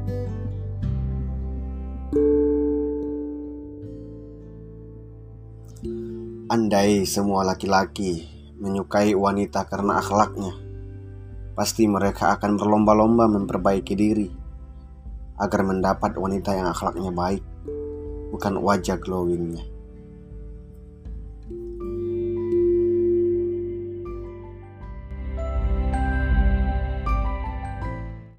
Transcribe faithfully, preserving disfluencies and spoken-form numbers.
Andai semua laki-laki menyukai wanita karena akhlaknya, pasti mereka akan berlomba-lomba memperbaiki diri agar mendapat wanita yang akhlaknya baik, bukan wajah glowingnya.